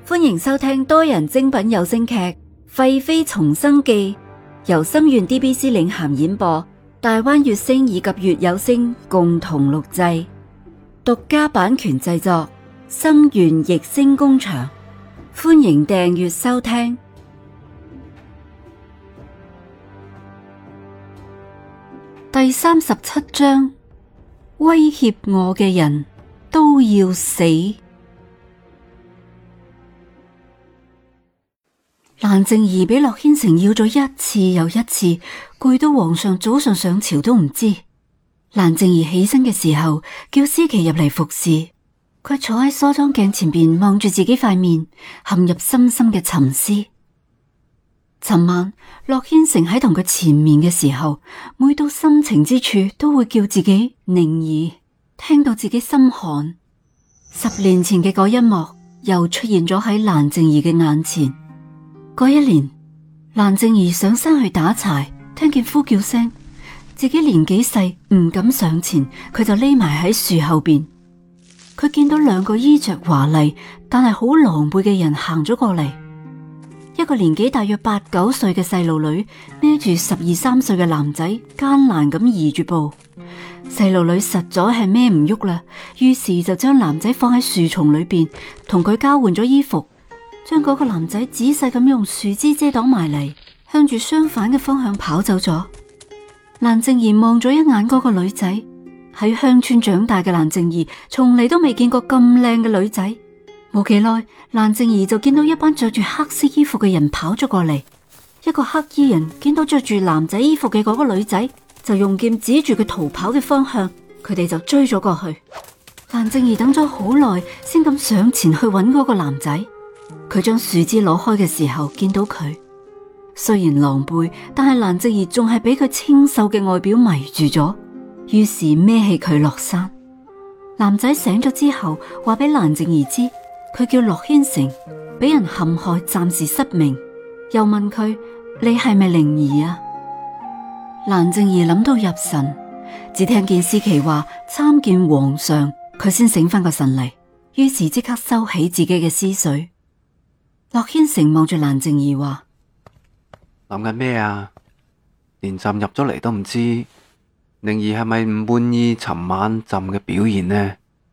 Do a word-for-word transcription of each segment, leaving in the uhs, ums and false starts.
歡迎收聽多人精品有聲劇《廢妃重生記》，由心願 D B C 領銜演播，大灣月星以及月有聲共同錄製，獨家版權製作，心願逸聲工場。歡迎訂閱收聽。第三十七章，威脅我嘅人都要死。蘭靜儀俾駱軒成要咗一次又一次，攰到皇上早上上朝都唔知。蘭靜儀起身嘅時候，叫思琪入嚟服侍。佢坐喺梳妝鏡前邊望住自己塊面，陷入深深嘅沉思。尋晚駱軒成喺同佢纏綿嘅時候，每到深情之處都會叫自己寧兒，聽到自己心寒。十年前嘅嗰一幕又出現咗喺蘭靜儀嘅眼前。嗰一年，蘭靜儀上山去打柴，聽見呼叫聲，自己年紀細唔敢上前，佢就匿埋喺樹後邊。佢見到兩個衣着華麗但係好狼狽嘅人行咗過嚟，一個年紀大約八九歲嘅細路女孭住十二三歲嘅男仔，艱難咁移住步。細路女實在係孭唔喐啦，於是就將男仔放喺樹叢裏邊，同佢交換咗衣服。將嗰個男仔仔細咁用樹枝遮擋埋嚟，向住相反嘅方向跑走咗。蘭靜儀望咗一眼嗰個女仔，喺鄉村長大嘅蘭靜儀從嚟都未見過咁靚嘅女仔。冇幾耐，蘭靜儀就見到一班着住黑色衣服嘅人跑咗過嚟。一個黑衣人見到着住男仔衣服嘅嗰個女仔，就用劍指住佢逃跑嘅方向，佢哋就追咗過去。蘭靜儀等咗好耐，先咁上前去揾嗰個男仔。佢將樹枝攞開嘅時候，見到佢雖然狼狽，但係蘭靜儀仲係俾佢清秀嘅外表迷住咗，於是孭起佢落山。男仔醒咗之後，話俾蘭靜儀知，佢叫駱軒成，俾人陷害，暫時失明。又問佢：你係咪靈兒啊？蘭靜儀諗到入神，只聽見思琪話參見皇上，佢先醒翻個神嚟，於是即刻收起自己嘅思緒。駱軒成望住蘭靜儀話： 諗緊咩啊？連朕入咗嚟都唔知，靈兒係咪唔滿意尋晚朕嘅表現呢？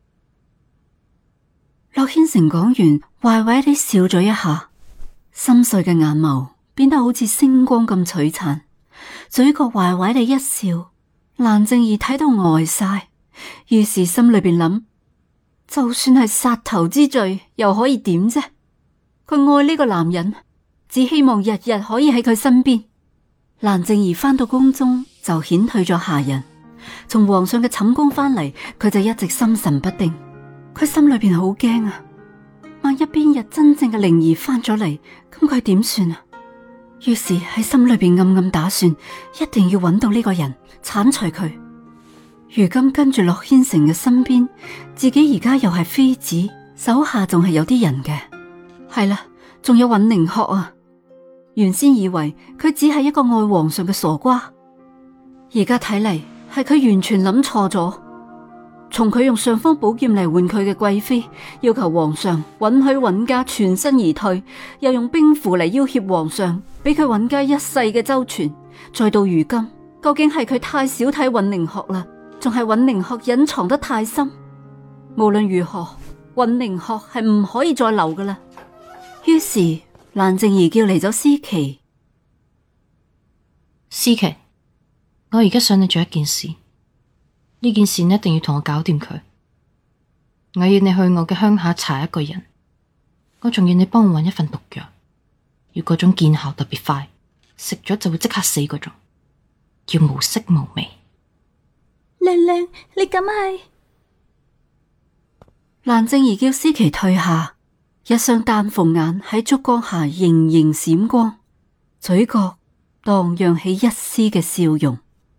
駱軒成講完，壞壞地笑咗一下，深邃嘅眼眸變得好似星光咁璀璨，嘴角壞壞地一笑。蘭靜儀睇到呆晒，於是心裏邊諗：就算係殺頭之罪，又可以點啫？佢愛呢個男人，只希望日日可以喺佢身邊。蘭靜儀翻到宮中就遣退咗下人，從皇上嘅寢宮翻嚟，佢就一直心神不定。佢心裏邊好驚啊！萬一邊日真正嘅靈兒翻咗嚟，咁佢點算啊？於是喺心裏邊暗暗打算，一定要揾到呢個人，鏟除佢。如今跟住駱軒成嘅身邊，自己而家又係妃子，手下仲係有啲人嘅。係啦，仲有尹寧鶴啊！原先以為佢只係一個愛皇上嘅傻瓜，而家睇嚟係佢完全諗錯咗。從佢用尚方寶劍嚟換佢嘅貴妃，要求皇上允許尹家全身而退，又用兵符嚟要挾皇上，俾佢尹家一世嘅周全。再到如今，究竟係佢太小睇尹寧鶴啦，仲係尹寧鶴隱藏得太深？無論如何，尹寧鶴係唔可以再留噶啦。於是蘭靜儀叫嚟咗思琪。 思琪，我而家想你做一件事，呢件事你一定要同我搞掂佢。我要你去我嘅鄉下查一個人，我仲要你幫我搵一份毒藥，要嗰種見效特別快，食咗就會即刻死嗰種，要無色無味。 娘娘，你咁係？ 蘭靜儀叫思琪退下。一雙丹鳳眼喺燭光下盈盈閃光，嘴角蕩漾起一絲嘅笑容。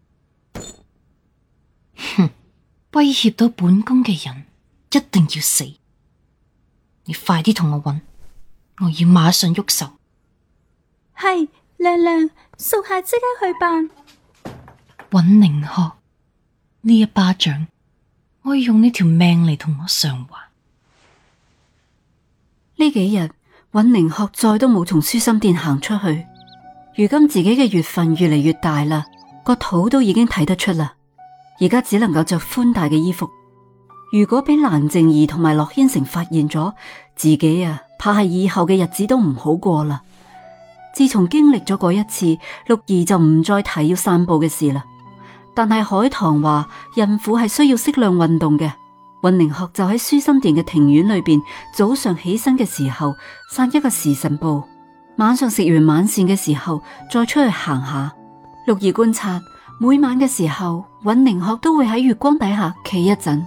哼，威脅到本宮嘅人一定要死！你快啲同我搵，我要馬上喐手。 係，娘娘，屬下即刻去辦。 尹寧鶴，呢一巴掌，我要用呢條命嚟同我償還。 呢幾日尹寧鶴再都冇從舒心殿行出去。如今自己嘅月份越嚟越大啦，個肚都已經睇得出啦。而家只能夠着寬大嘅衣服。如果俾蘭靜儀同埋駱軒成發現咗，自己啊，怕係以後嘅日子都唔好過啦。自從經歷咗嗰一次，六兒就唔再提要散步嘅事啦。但係海棠話，孕婦係需要適量運動嘅。尹寧鶴就喺舒心殿嘅庭院裏邊，早上起身嘅時候散一個時辰步，晚上食完晚膳嘅時候再出去行下。六兒觀察，每晚嘅時候，尹寧鶴都會喺月光底下企一陣。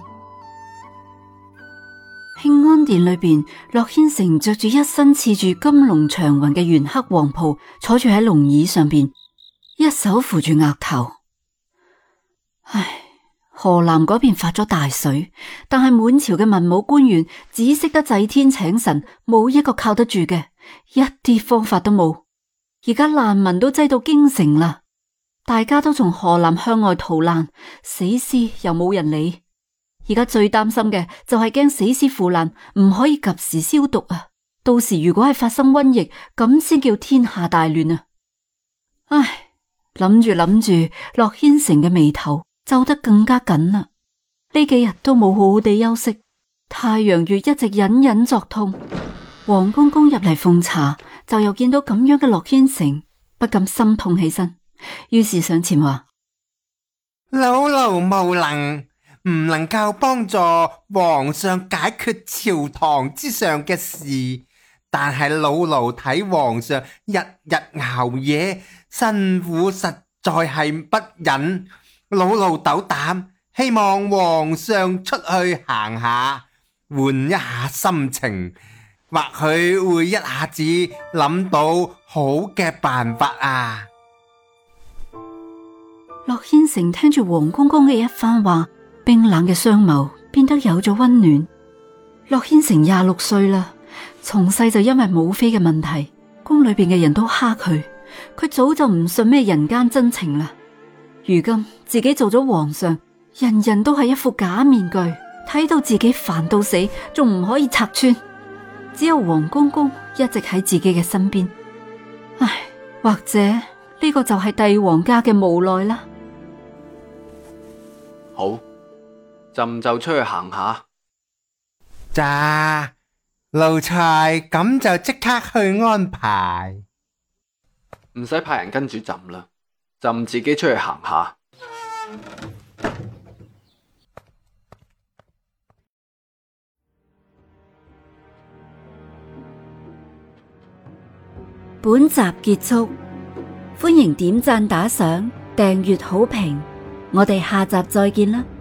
慶安殿裏邊，駱軒成着住一身刺住金龍長雲嘅玄黑黃袍，坐住喺龍椅上邊，一手扶住額頭。唉，河南嗰邊發咗大水，但係滿朝嘅文武官員只識得祭天請神，冇一個靠得住嘅，一啲方法都冇。而家難民都擠到京城啦，大家都從河南向外逃難，死屍又冇人理。而家最擔心嘅就係驚死屍腐爛，唔可以及時消毒啊！到時如果係發生瘟疫，咁先叫天下大亂啊！唉，諗住諗住，駱軒成嘅眉頭皺得更加緊啦。呢幾日都冇好好地休息，太陽穴一直隱隱作痛。黃公公入嚟奉茶，就又見到咁樣嘅駱軒成，不禁心痛起身，於是上前話： 老奴無能。唔能夠幫助皇上解決朝堂之上嘅事，但係老奴睇皇上日日熬夜，辛苦實在係不忍。老奴斗膽，希望皇上出去行下，換一下心情，或許會一下子諗到好嘅辦法啊！ 駱軒成聽住黃公公嘅一番話，冰冷嘅雙眸變得有咗溫暖。駱軒成廿六歲啦，從細就因為母妃嘅問題，宮裏邊嘅人都蝦佢，佢早就唔信咩人間真情啦。如今自己做咗皇上，人人都係一副假面具，睇到自己煩到死，仲唔可以拆穿。只有黃公公一直喺自己嘅身邊。唉，或者呢個就係帝王家嘅無奈啦。 好。朕就出去行下。 咋，奴才咁就即刻去安排。 唔使派人跟住朕啦，朕自己出去行下。 本集結束，歡迎點讚打賞、訂閱好評，我哋下集再見啦。